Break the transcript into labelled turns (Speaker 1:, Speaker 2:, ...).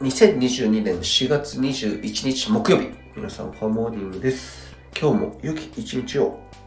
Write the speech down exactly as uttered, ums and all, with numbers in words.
Speaker 1: にせんにじゅうにねんしがつにじゅういちにち木曜日、皆さんファンモーニングです。今日も良き一日を。